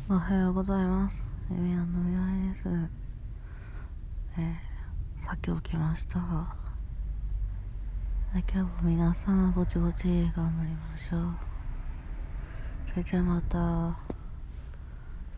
おはようございます。エミヤンの未来です。さっき起きました。今日も皆さんぼちぼち頑張りましょう。それじゃあまた。